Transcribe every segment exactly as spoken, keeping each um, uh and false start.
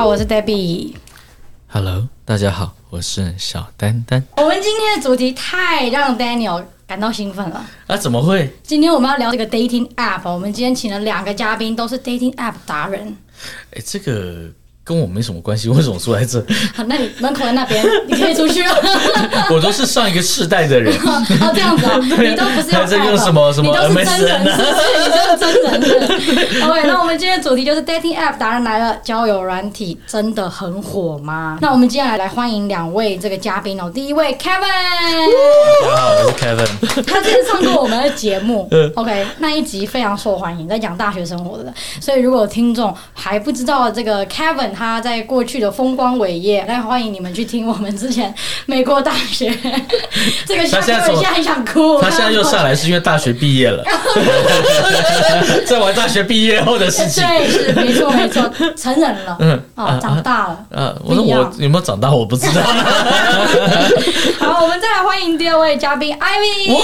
好，我是 Debbie。Hello， 大家好，我是小丹丹。 我們今天的主題太讓 Daniel 感到興奮了。 啊，怎麼會？ 今天我們要聊這個 dating app。我們今天請了兩個嘉賓，都是 dating app 達人。 哎，這個跟我沒什麼關係，為什麼坐在這？ 好，那你門口在那邊，你可以出去了。 我都是上一個世代的人。 哦，這樣子啊，你都不是用 app， 在用什麼什麼 M S N 啊？ 你都是真人的。OK， 那我們今天的主題就是 dating app 達人來了，交友軟體真的很火嗎？那我們接下來來歡迎兩位這個嘉賓哦。第一位 Kevin， 大家好，我是 Kevin。 他之前上過我們的節目，OK， 那一集非常受歡迎，在講大學生活的。所以如果有聽眾還不知道這個 Kevin 他在過去的風光偉業，那歡迎你們去聽我們之前美國大學。這個 Kevin 現在很想哭， 他現在又上來是因為大學畢業了，在玩大學畢業後的事情。 對，是沒錯沒錯，成人了，嗯，哦，長大了。 呃，我說我有沒有長大，我不知道。 好，我們再來歡迎第二位嘉賓 Ivy。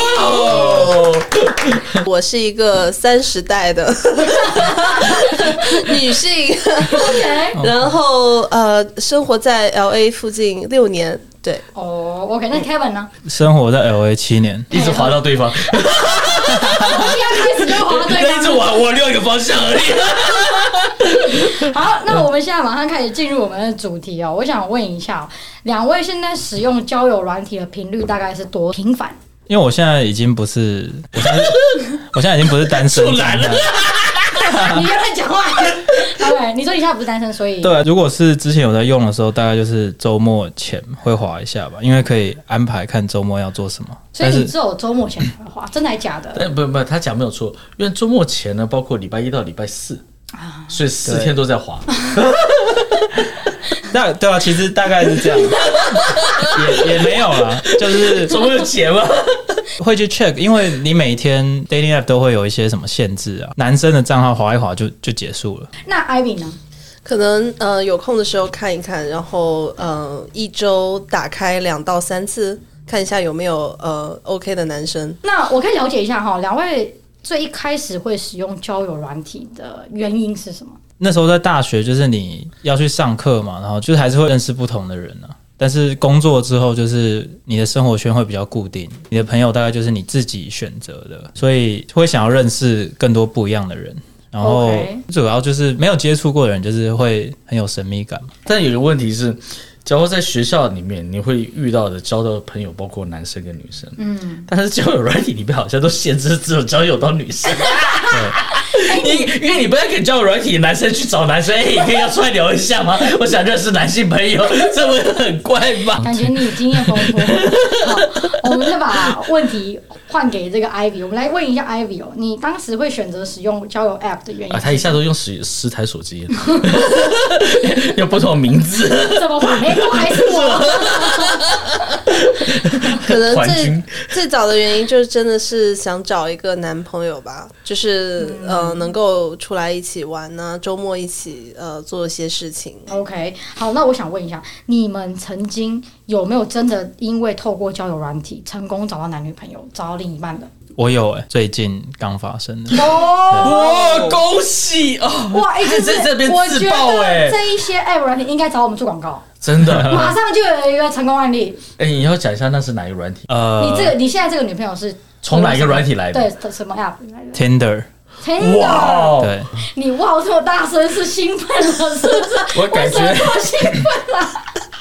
哇，我是一個三十代的女性，OK，然後呃，生活在 L A 附近六年。對， 哦、oh, ，OK， 那 Kevin 呢？ 生活在 L A 七年， 一直滑到對方。 我一開始就滑到對方， 一直往我另一個方向而已。好，那我們現在馬上開始進入我們的主題哦。我想問一下，兩位現在使用交友軟體的頻率大概是多頻繁？ 因為我現在已經不是，我現在，我現在已經不是單身狀態了。 你別亂講話。OK， 你說你現在不是單身，所以對，如果是之前有在用的時候，大概就是周末前會滑一下吧，因為可以安排看周末要做什麼。 所以你只有周末前會滑，真的還是假的？ 但不不，他講沒有錯，因為周末前呢，包括禮拜一到禮拜四，啊、所以四天都在滑。 那對啊，其實大概是這樣，也也沒有啦，就是周末有錢嗎？ 會去 check， 因為你每天 dating app 都會有一些什麼限制啊，男生的賬號滑一滑就就結束了。 那 Ivy 呢？ 可能呃有空的時候看一看，然後呃一周打開兩到三次，看一下有沒有呃 OK 的男生。 那我可以了解一下哈，兩位最一開始會使用交友軟體的原因是什麼？ 那時候在大學，就是你要去上課嘛，然後就是還是會認識不同的人啊。但是工作之後，就是你的生活圈會比較固定，你的朋友大概就是你自己選擇的，所以會想要認識更多不一樣的人。然後主要就是沒有接觸過的人，就是會很有神秘感。 但有個問題是，假如在學校裡面，你會遇到的交到的朋友包括男生跟女生，嗯，但是交友軟體裡面好像都限制只有交友到女生。對，因因為你不太給交友軟體男生去找男生，哎、欸，你可以要出來聊一下嗎？我想認識男性朋友，這會很怪吧？ 感覺你經驗豐富。好，我們再把問題換給這個 Ivy， 我們來問一下 Ivy 哦，你當時會選擇使用交友 App 的原因？啊， 他一下都用十十台手機，用不同的名字， 怎麼辦？哎，都還是我。 可能最最早的原因就是真的是想找一個男朋友吧，就是、嗯、呃能夠出來一起玩呢、啊，周末一起呃做一些事情。 OK， 好，那我想問一下，你們曾經有沒有真的因為透過交友軟體成功找到男女朋友，找到另一半的？ 我有哎、欸，最近剛發生的。 哇，恭喜哦！ 哇，一直在這邊自爆哎， 這一些 App 軟體應該找我們做廣告。 真的， 馬上就有一個成功案例。 哎、欸，你要講一下那是哪一個軟體？ 呃， 你這個你現在這個女朋友是從哪一個軟體來的？ 對，什麼 App 來的 ？Tinder。 哇， 對， 你哇這麼大聲是興奮了是不是？ 我感覺為什麼這麼興奮了。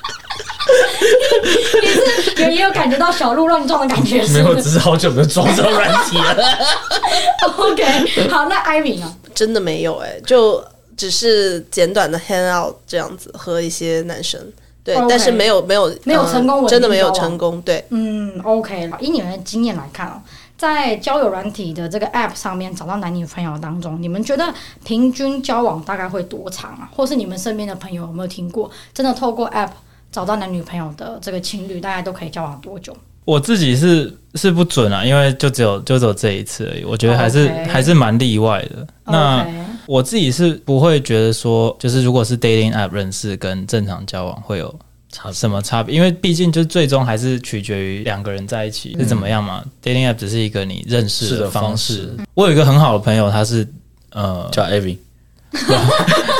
你是有也有感覺到小鹿亂撞的感覺是不是？ 沒有，只是好久沒有裝這種軟體了。 OK， 好，那 Ivy 呢？ 真的沒有哎、欸，就只是簡短的 hang out 這樣子和一些男生，對， okay, 但是沒有沒有沒有成功、呃， 真的沒有成功，對， 嗯 ，OK， 以你們的經驗來看哦，在交友軟體的這個 App 上面找到男女朋友當中，你們覺得平均交往大概會多長啊？或是你們身邊的朋友有沒有聽過，真的透過 App 找到男女朋友的這個情侶，大概都可以交往多久？ 我自己是是不準啊，因為就只有就只有這一次而已。我覺得還是、okay. 還是蠻例外的。Okay. 那我自己是不會覺得說，就是如果是 dating app 認識跟正常交往會有什麼差別，因為畢竟就最終還是取決於兩個人在一起是怎麼樣嘛。嗯、dating app 只是一個你認識的方式。我有一個很好的朋友，他是呃叫 Ivy。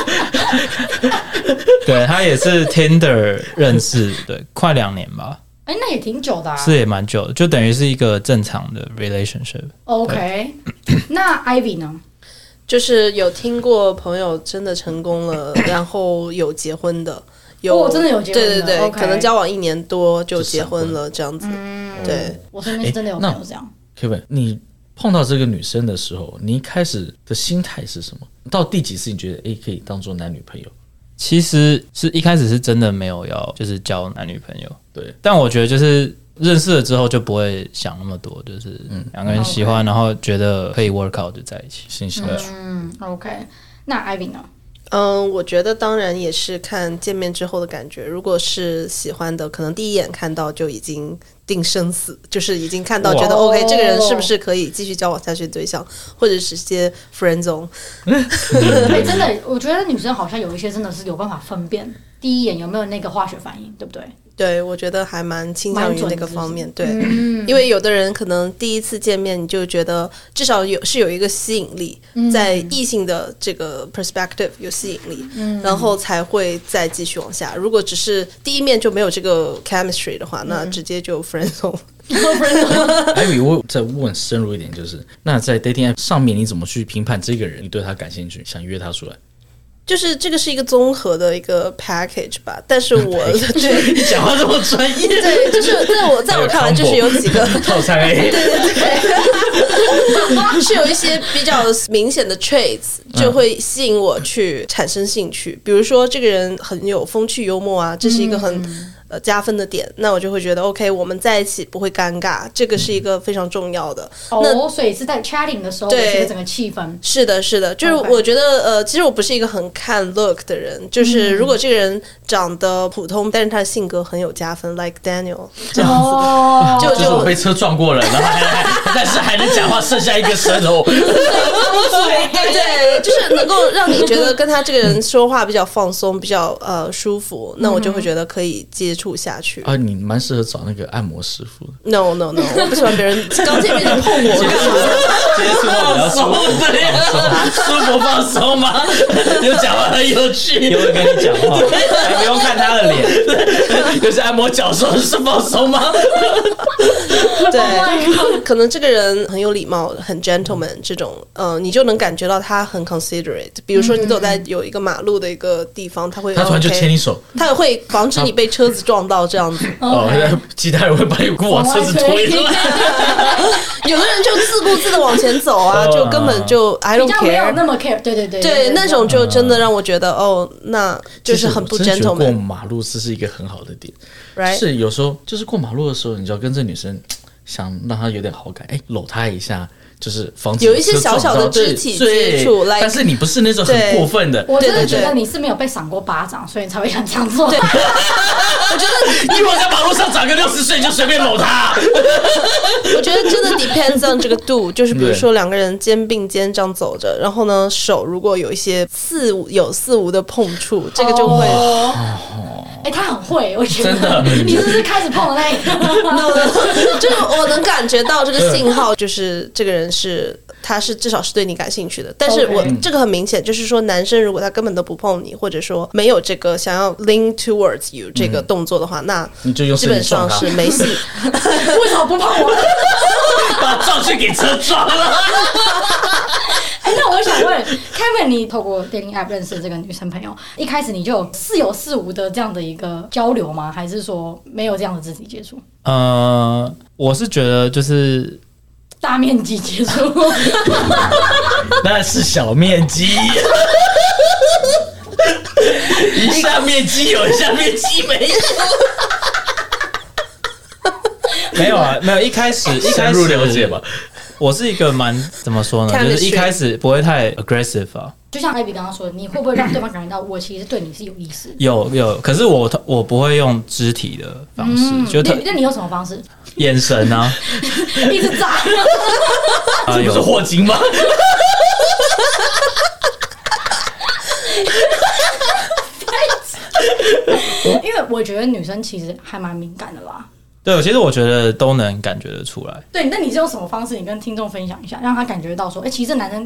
對，他也是 Tinder 認識，對，快兩年吧。 哎、欸，那也挺久的啊， 是也蠻久的，就等於是一個正常的 relationship。OK， 那 Ivy 呢？ 就是有聽過朋友真的成功了，然後有結婚的，有、 哦、真的有結婚的， 對對對， okay. 可能交往一年多就結婚了這樣子。嗯、對， 我身邊是真的有朋友這樣。 Kevin，你碰到這個女生的時候，你一開始的心態是什麼？到第幾次你覺得哎可以當做男女朋友？ 其實是一開始是真的沒有要就是交男女朋友， 對。但我覺得就是認識了之後就不會想那麼多，就是兩個人喜歡，嗯、然後覺得可以 work out 就在一起， 心想去。 嗯 ，OK。那 Ivy 呢？ 嗯，我覺得當然也是看見面之後的感覺。如果是喜歡的，可能第一眼看到就已經定生死，就是已經看到覺得 OK， 這個人是不是可以繼續交往下去的對象，或者是些 friend zone。 欸、真的，我覺得女生好像有一些真的是有辦法分辨第一眼有沒有那個化學反應，對不对？ 对，我覺得還蠻傾向於那個方面。對、 嗯， 因為有的人可能第一次見面你就覺得至少有是有一個吸引力，嗯、在異性的這個 perspective 有吸引力、嗯，然後才會再繼續往下。如果只是第一面就沒有這個 chemistry 的話，嗯、那直接就 friend zone。 還以為我再問深入一點，就是那在 dating app 上面你怎麼去評判這個人？你對他感興趣，想約他出來？ 就是這個是一個綜合的一個 package 吧，但是我對你講話這麼專業， 對，就是在我在我看來，就是有幾個套餐 A， 對對對，是有一些比較明顯的 traits 就會吸引我去產生興趣，比如說這個人很有風趣幽默啊，這是一個很。嗯呃，加分的點，那我就會覺得 OK， 我們在一起不會尷尬，這個是一個非常重要的。 哦、 那 ，oh, 所以是在 chatting 的時候，對整個氣氛。是的，是的，就是我覺得、okay. 呃，其實我不是一個很看 look 的人，就是如果這個人長得普通，嗯、但是他的性格很有加分 ，like Daniel 這樣子，哦、就就是我被車撞過了，然後還但是還能講話，剩下一個舌頭。對對，就是能夠讓你覺得跟他這個人說話比較放鬆，比較呃舒服，那我就會覺得可以接觸下去啊。你蠻適合找那個按摩師傅的。 No No No， 我不喜歡別人剛見面就碰我幹嘛？ 接觸到比較舒服，對呀，舒服放鬆嗎？就講話很有趣，又會跟你講話，還不用看他的臉，就是按摩腳的時候是放鬆嗎？ 對， oh、可能這個人很有禮貌，很 gentleman 這種，嗯、呃，你就能感覺到他很 considerate。比如說你走在有一個馬路的一個地方，他會他突然就牽你手， 他也會防止你被車子撞到這樣子。 哦，其他人會把你往車子推出來。 有的人就自顧自的往前走啊，就根本就 I don't care， 沒有那麼 care。對對對， 對那種就真的讓我覺得哦，那就是很不 gentleman。 過馬路這是一個很好的點， right？ 是有時候就是過馬路的時候，你就要跟這女生想讓她有點好感，哎，摟她一下。就是防止有一些小小的肢體接觸， 但是你不是那種很過分的。 我真的覺得你是沒有被賞過巴掌，所以你才會想這樣做。 我覺得你如果在馬路上長個六十歲，你就隨便摟他。 我覺得真的 depends on 這個度，就是比如說兩個人肩並肩這樣走着，然後呢手如果有一些似有似無的碰觸，這個就會。 哦哎、欸，他很會，我覺得真的，你是不是開始碰的那一個？ no, no, 就是我能感覺到這個信號，就是這個人是，他是至少是對你感興趣的。但是我、okay. 這個很明顯，就是說男生如果他根本都不碰你，或者說沒有這個想要 lean towards you 這個動作的話，嗯、那你就基本上是沒戲。 為什麼不碰我？ 把撞去給車撞了。 哎、欸，那我想問 Kevin， 你透過 dating app 認識這個女生朋友，一開始你就有似有似無的這樣的一個交流嗎？還是說沒有這樣的肢體接觸？ 呃，我是覺得就是大面積接觸， 那是小面積，一下面積有，一下面積沒有。 沒有啊，沒有。一開始，一開始深入了解吧。 我是一個蠻怎麼說呢，就是一開始不會太 aggressive 啊。 就像 Ivy 剛剛說的，你會不會讓對方感覺到我其實對你是有意思？ 有有，可是我我不會用肢體的方式，嗯、就他那你用什麼方式？ 眼神啊， 一直眨。 這不是霍金嗎？ 因為我覺得女生其實還蠻敏感的啦。 對，其實我覺得都能感覺得出來。 對，那你是用什麼方式？你跟聽眾分享一下，讓他感覺到說，哎、欸，其實這男生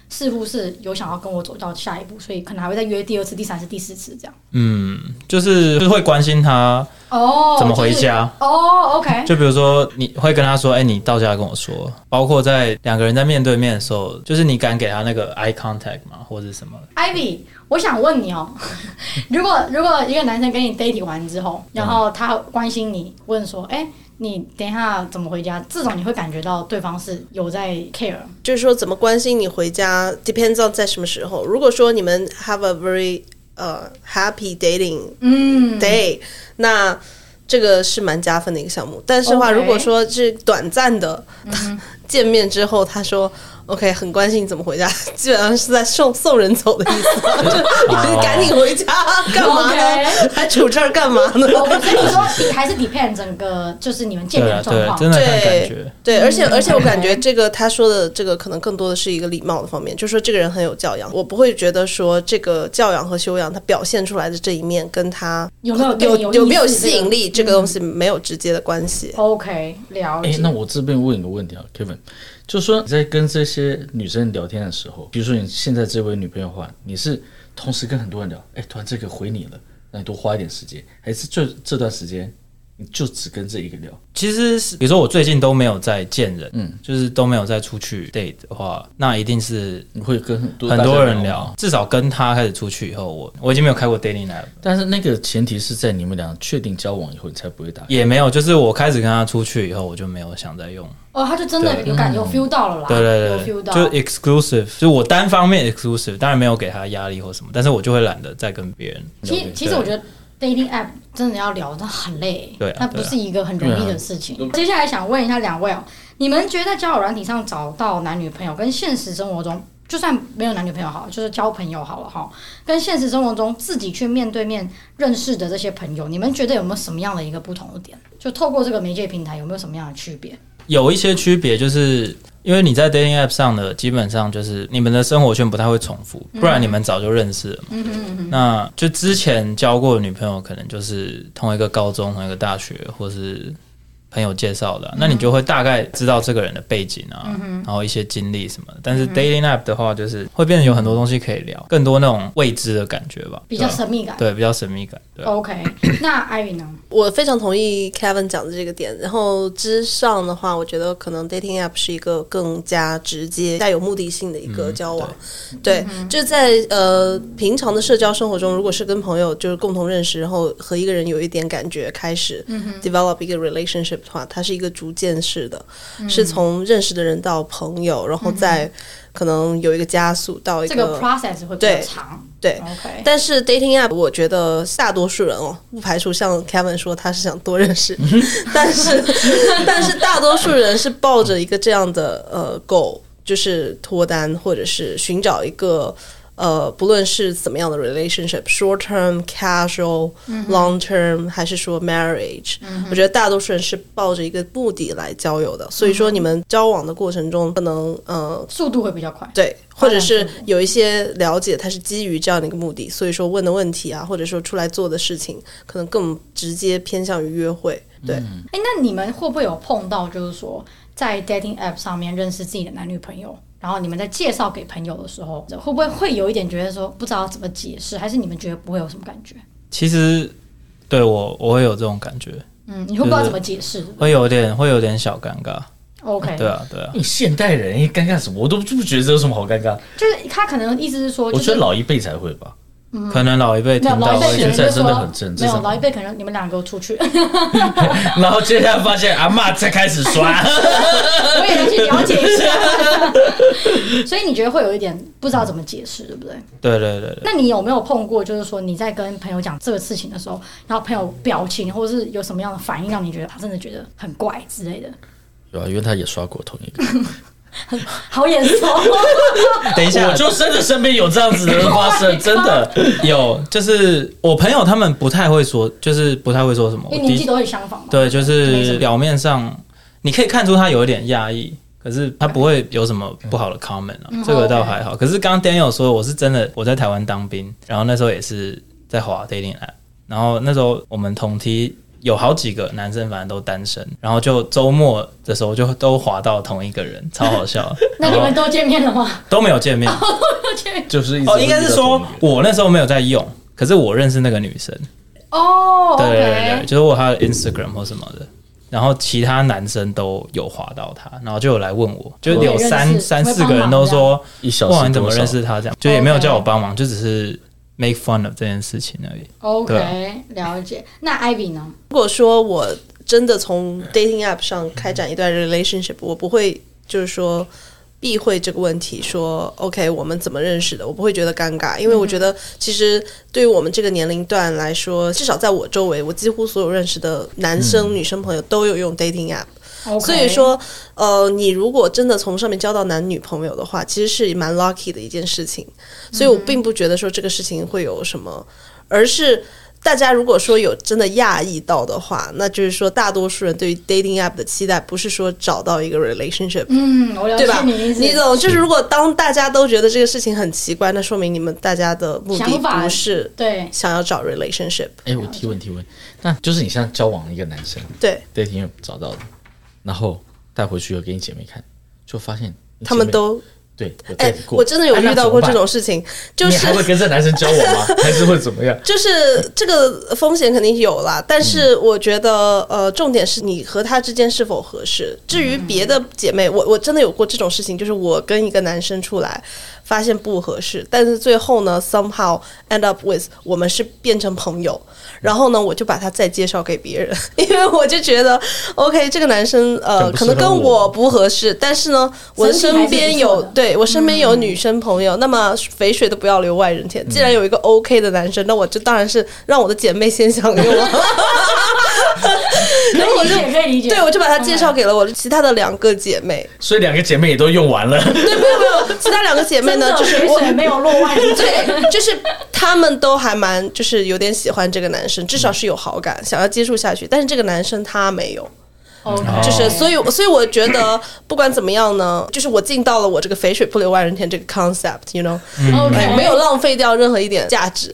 似乎是有想要跟我走到下一步，所以可能還會再約第二次、第三次、第四次這樣。 嗯，就是就是會關心他哦怎麼回家哦、就是、哦 ，OK。 就比如說你會跟他說，哎、欸，你到家跟我說。包括在兩個人在面對面的時候，就是你敢給他那個 eye contact 嗎，或者什麼 ？Ivy， 我想問你哦，如果如果一個男生跟你 dating 完之後，然後他關心你，問說，哎、欸。你等一下怎麼回家？這種你會感覺到對方是有在 care， 就是說怎麼關心你回家 ，depends on 在什麼時候。如果說你們 have a very 呃、uh, happy dating day，、嗯、那這個是蠻加分的一個項目。但是的話， okay. 如果說是短暫的、嗯、見面之後，他說。OK， 很關心你怎麼回家，基本上是在送送人走的意思，就你趕緊回家幹嘛呢？ okay. 還杵這兒幹嘛呢？ 所以你說還是 depend 整個就是你們見面的狀況， 真的看感覺。 對，對，而且而且我感覺這個他說的這個可能更多的是一個禮貌的方面，就是說這個人很有教養，我不會覺得說這個教養和修養他表現出來的這一面跟他有沒有有有有沒有吸引力，這個東西沒有直接的關係。 OK， 了解。 哎，那我這邊問一個問題啊 ，Kevin。就是說你在跟這些女生聊天的時候，比如說你現在這位女朋友的話，你是同時跟很多人聊，哎，突然這個回你了，那你多花一點時間，還是這這段時間你就只跟這一個聊？ 其實是，比如說我最近都沒有在見人，嗯，就是都沒有再出去 date 的話，那一定是你會跟很多很多人聊。至少跟他開始出去以後，我我已經沒有開過 dating app， 但是那個前提是在你們倆確定交往以後，你才不會打。 也沒有，就是我開始跟他出去以後，我就沒有想再用。 哦，他就真的有感有 feel 到了啦， 對對對， 有 feel 到， 就 exclusive， 就我單方面 exclusive， 當然沒有給他壓力或什麼，但是我就會懶得再跟別人。 其實其實我覺得 dating app 真的要聊，真的很累， 對、啊， 那不是一個很容易的事情。接下來想問一下兩位哦，你們覺得在交友軟體上找到男女朋友，跟現實生活中就算沒有男女朋友好了，就是交朋友好了哈，跟現實生活中自己去面對面認識的這些朋友，你們覺得有沒有什麼樣的一個不同的點？就透過這個媒介平台，有沒有什麼樣的區別？ 有一些區別，就是因為你在 dating app 上的，基本上就是你們的生活圈不太會重複，不然你們早就認識了嘛。嗯哼嗯哼，那就之前交過的女朋友，可能就是同一個高中、同一個大學，或是朋友介紹的、啊嗯，那你就會大概知道這個人的背景啊，嗯、然後一些經歷什麼的。但是 dating app 的話，就是會變得有很多東西可以聊，更多那種未知的感覺吧， 比較神秘感。 對，比較神秘感。對 OK， 那 Ivy 呢？ 我非常同意 Kevin 講的這個點。然後之上的話，我覺得可能 dating app 是一個更加直接、帶有目的性的一個交往。嗯、對，對嗯、就在呃平常的社交生活中，如果是跟朋友就是共同認識，然後和一個人有一點感覺，開始 develop 一個 relationship 的話，它是一個逐漸式的，嗯、是從認識的人到朋友，然後再可能有一個加速到一個、 這個 process 會比較長。 對，對 okay. 但是 dating app 我覺得大多數人哦，不排除像 Kevin 說他是想多認識，但是但是大多數人是抱着一個這樣的呃 goal，就是脫單或者是尋找一個。呃，不論是怎麼樣的 relationship，short term、casual、long term，還是說 marriage，嗯，我覺得大多數人是抱着一個目的來交友的。所以說，你們交往的過程中，可能呃速度會比較快， 對，或者是有一些了解，它是基於這樣的一個目的，所以說問的問題啊，或者說出來做的事情，可能更直接偏向於約會。對，哎， 嗯，那你們會不會有碰到，就是說在 dating app 上面認識自己的男女朋友？然後你們在介紹給朋友的時候，會不會會有一點覺得說不知道怎麼解釋，還是你們覺得不會有什麼感覺？ 其實對我我會有這種感覺， 嗯，你會不知道怎麼解釋，就是， 會有點會有點小尷尬。 OK， 對啊對啊， 你現代人尷尬什麼？我都不覺得這有什麼好尷尬。 就是他可能意思是說，就是， 我覺得老一輩才會吧。 嗯、可能老一輩聽到， 現在真的很正。 沒有老一輩可能你們兩個出去， 然後接下來發現阿嬤才開始刷， 我也要去了解一下。所以你覺得會有一點不知道怎麼解釋，對不對？ 對對對對。 那你有沒有碰過，就是說你在跟朋友講這個事情的時候，然後朋友表情或者是有什麼樣的反應，讓你覺得他真的覺得很怪之類的？ 有啊，因為他也刷過同一個。 好眼熟。 等一下， 我就真的身邊有這樣子的人發生，真的有。就是我朋友他們不太會說，就是不太會說什麼， 因為年紀都會相仿嘛。 對，就是表面上你可以看出他有一點壓抑，可是他不會有什麼不好的 comment 啊，嗯、這個倒還好。可是剛剛 Daniel 說，我是真的我在台灣當兵，然後那時候也是在滑 dating app，然後那時候我們同梯有好幾個男生反正都單身，然後就周末的時候就都滑到同一個人，超好笑。 那你們都見面了嗎？ 都沒有見面， 就是哦，應該是說我那時候沒有在用，可是我認識那個女生。 哦， 對對對對，就是我她的 Instagram 或什麼的。然後其他男生都有滑到他，然後就有來問我，就有三三四個人都說，哇，你怎麼認識他？這樣就也沒有叫我幫忙，就只是 make fun of 這件事情而已。 OK，、啊、了解。那 Ivy 呢？ 如果說我真的從 dating app 上開展一段 relationship，我不會就是說避諱這個問題，說 OK 我們怎麼認識的，我不會覺得尷尬，因為我覺得其實對於我們這個年齡段來說，至少在我周圍，我幾乎所有認識的男生、嗯、女生朋友都有用 dating app，、okay. 所以說呃，你如果真的從上面交到男女朋友的話，其實是蠻 lucky 的一件事情，所以我並不覺得說這個事情會有什麼，而是大家如果說有真的訝異到的話，那就是說大多數人對於 dating app 的期待不是說找到一個 relationship， 嗯，我了解， 對吧？你懂，就是如果當大家都覺得這個事情很奇怪，那說明你們大家的目的不是對想要找 relationship。 哎，我提問提問，那就是你現在交往一個男生， 對 dating app 找到的，然後帶回去又給你姐妹看，就發現他們都。 對， 哎、欸，我真的有遇到過這種事情，就是你還會跟這男生交往嗎？還是會怎麼樣？ 就是這個風險肯定有啦，但是我覺得，呃，重點是你和他之間是否合適。至於別的姐妹，我我真的有過這種事情，就是我跟一個男生出來，發現不合適，但是最後呢 ，somehow end up with 我們是變成朋友，然後呢，我就把他再介紹給別人，因為我就覺得 ，OK， 這個男生呃，可能跟我不合適，但是呢，我的身邊有對。我身邊有女生朋友、嗯，那麼肥水都不要流外人田。既然有一個 OK 的男生，那我就當然是讓我的姐妹先享用了。然後我就可以理解， 對，我就把他介紹給了我其他的兩個姐妹。 所以兩個姐妹也都用完了。 對，沒有沒有，其他兩個姐妹呢，就是肥水沒有落外人田。 對，就是她們都還蠻，就是有點喜歡這個男生，至少是有好感，想要接觸下去。但是這個男生他沒有。 Okay. 就是，所以，所以我覺得不管怎麼樣呢，就是我盡到了我這個肥水不流外人田這個 concept，you know，、okay. 沒有浪費掉任何一點價值。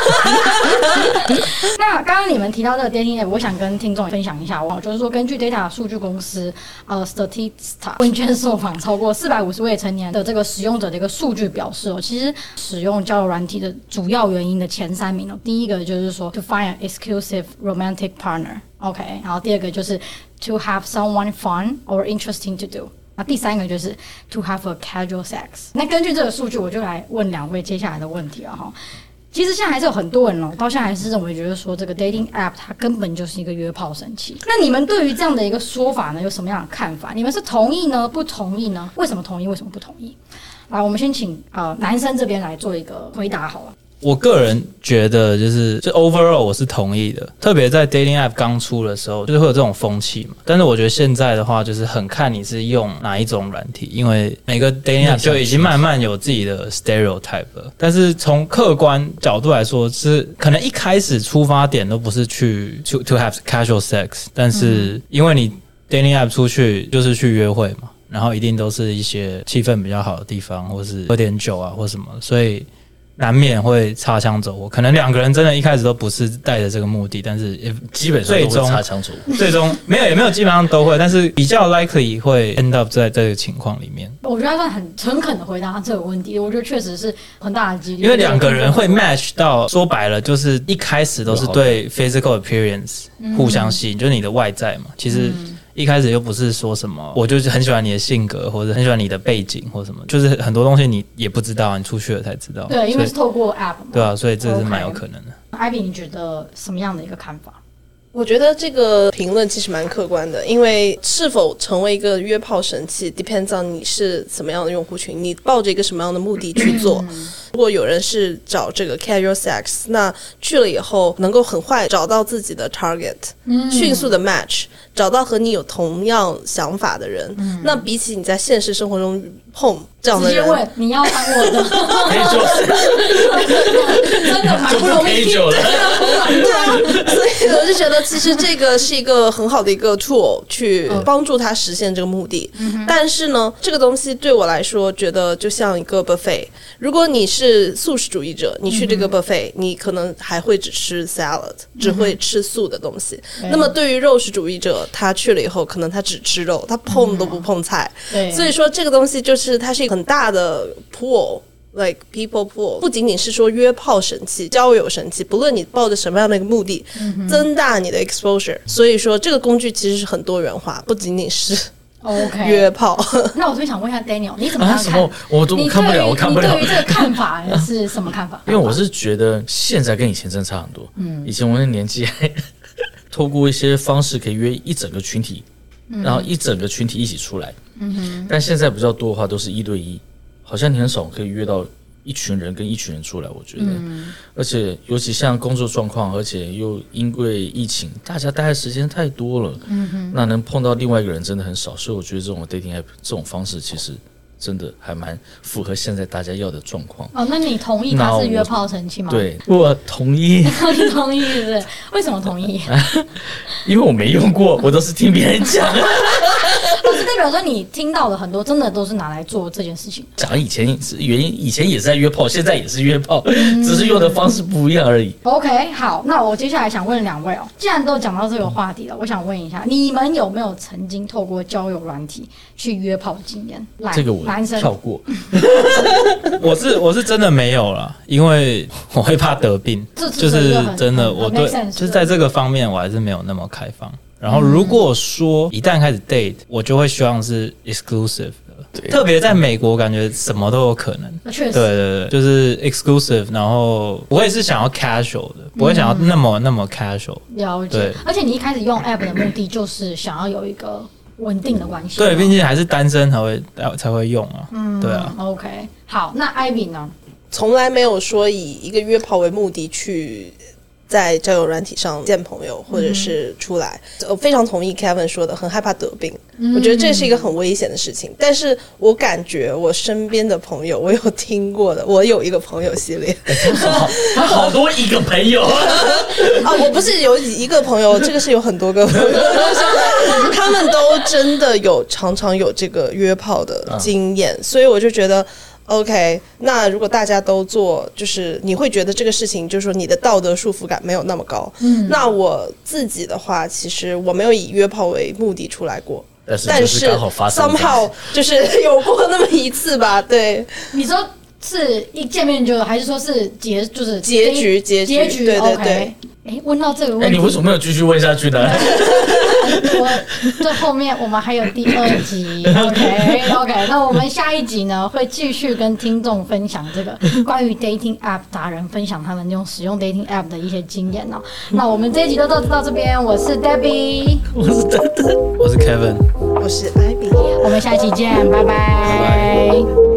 那剛剛你們提到這個 dating app，我想跟聽眾分享一下，我就是說，根據 data 數據公司呃 Statista 問卷受訪超過四百五十位成年的這個使用者的一個數據表示哦，其實使用交友軟體的主要原因的前三名哦，第一個就是說 to find an exclusive romantic partner。OK， 然後第二個就是 to have someone fun or interesting to do。那第三個就是 to have a casual sex。那根據這個數據，我就來問兩位接下來的問題了哈。其實現在還是有很多人哦，到現在還是認為覺得說這個 dating app 它根本就是一個約炮神器。那你們對於這樣的一個說法呢，有什麼樣的看法？你們是同意呢，不同意呢？為什麼同意？為什麼不同意？來，我們先請呃男生這邊來做一個回答好了。 我個人覺得就是就 overall 我是同意的，特別在 dating app 剛出的時候，就是會有這種風氣嘛。但是我覺得現在的話，就是很看你是用哪一種軟體，因為每個 dating app 就已經慢慢有自己的 stereotype 了。但是從客觀角度來說，是可能一開始出發點都不是去 to to have casual sex， 但是因為你 dating app 出去就是去約會嘛，然後一定都是一些氣氛比較好的地方，或是喝點酒啊或什麼，所以難免會擦槍走火，可能兩個人真的一開始都不是帶着這個目的，但是基本上都會擦槍走火。 最終沒有也沒有，基本上都會，但是比較 likely 會 end up 在這個情況裡面。 我覺得他算很誠懇的回答這個問題，我覺得確實是很大的幾率， 因為兩個人會 match 到，說白了就是一開始都是對 physical appearance 互相吸引，嗯、就是你的外在嘛，其實。嗯一開始又不是說什麼，我就是很喜歡你的性格，或者很喜歡你的背景，或什麼，就是很多東西你也不知道，你出去了才知道。 對，因為是透過 app 嘛。 對啊，所以這是蠻有可能的。 Ivy， 你覺得什麼樣的一個看法？ 我覺得這個評論其實蠻客觀的，因為是否成為一個約炮神器 depends on 你是什麼樣的用戶群，你抱着一個什麼樣的目的去做。如果有人是找這個 casual sex， 那去了以後能夠很快找到自己的 target， 迅速的 match， 找到和你有同樣想法的人，嗯、那比起你在現實生活中碰這樣的人， 直接問你要當我的， 可以做， 真的蠻不容易久了。 對啊，所以我就覺得其實這個是一個很好的一個 tool 去幫助他實現這個目的。嗯、但是呢，這個東西對我來說，覺得就像一個 buffet。如果你是素食主義者，你去這個 buffet，、嗯、你可能還會只吃 salad，、嗯、只會吃素的東西。嗯、那麼對於肉食主義者，他去了以後，可能他只吃肉，他碰都不碰菜。嗯、所以說這個東西就是它是一個很大的 pool。Like people pool， 不僅僅是說約炮神器、交友神器，不論你抱着什麼樣的一個目的，嗯、增大你的 exposure。所以說，這個工具其實是很多元化，不僅僅是 OK 約炮。 那我就想問一下 Daniel， 你怎麼看？啊、什麼？ 我都看不了，我看不了。 你對於這個看法是什麼看法？ 因為我是覺得現在跟以前真的差很多。嗯，以前我的年紀還透過一些方式可以約一整個群體，嗯、然後一整個群體一起出來。嗯哼。但現在比較多的話，都是一對一。好像你很少可以約到一群人跟一群人出來，我覺得，嗯、而且尤其像工作狀況，而且又因為疫情，大家待的時間太多了，嗯哼，那能碰到另外一個人真的很少，所以我覺得這種 dating app 這種方式其實真的還蠻符合現在大家要的狀況。 哦，那你同意他是約炮神器嗎？ 對，我同意。 你同意是不是？為什麼同意？ 因為我沒用過，我都是聽別人講。 我是代表說你聽到的很多真的都是拿來做這件事情。 講以前是原因，以前也是在約炮，現在也是約炮，嗯、只是用的方式不一樣而已。 OK， 好，那我接下來想問兩位哦，既然都講到這個話題了，我想問一下，你們有沒有曾經透過交友軟體去約炮的經驗？來，這個我男生跳過。 我是我是真的沒有啦，因為我會怕得病，這就是真的。我對就是在這個方面我還是沒有那麼開放。然後如果說一旦開始 date，我就會希望是 exclusive 的，對特別在美國感覺什麼都有可能。確實，對對對，就是 exclusive，然後不會是想要 casual 的，不會想要那麼、嗯、那麼 casual。了解。對， 而且你一開始用 app 的目的就是想要有一個穩定的關係。 對，畢竟還是單身才會才會用啊。嗯，對啊。 OK， 好，那 Ivy 呢？ 從來沒有說以一個約炮為目的去在交友軟體上見朋友或者是出來，嗯、我非常同意 Kevin 說的，很害怕得病。嗯、我覺得這是一個很危險的事情。但是我感覺我身邊的朋友，我有聽過的，我有一個朋友系列， 好，好多一個朋友啊，我不是有一個朋友，這個是有很多個朋友，他們都真的有常常有這個約炮的經驗，嗯、所以我就覺得。OK， 那如果大家都做，就是你會覺得這個事情，就是說你的道德束縛感沒有那麼高。嗯，那我自己的話，其實我沒有以約炮為目的出來過，但是剛好發生，somehow 就是有過那麼一次吧。對， 你說是一見面就，還是說是結，就是結局？結局？結局？對對對。 哎，問到這個問題， 哎，你為什麼沒有繼續問下去呢？ 我這後面我們還有第二集 ，OK OK， 那我們下一集呢會繼續跟聽眾分享這個關於 dating app 達人分享他們用使用 dating app 的一些經驗哦。那我們這一集就到到這邊，我是 Debbie， 我是丹丹， 我是 Kevin， 我是 Ivy， 我們下一期見，拜拜。拜拜。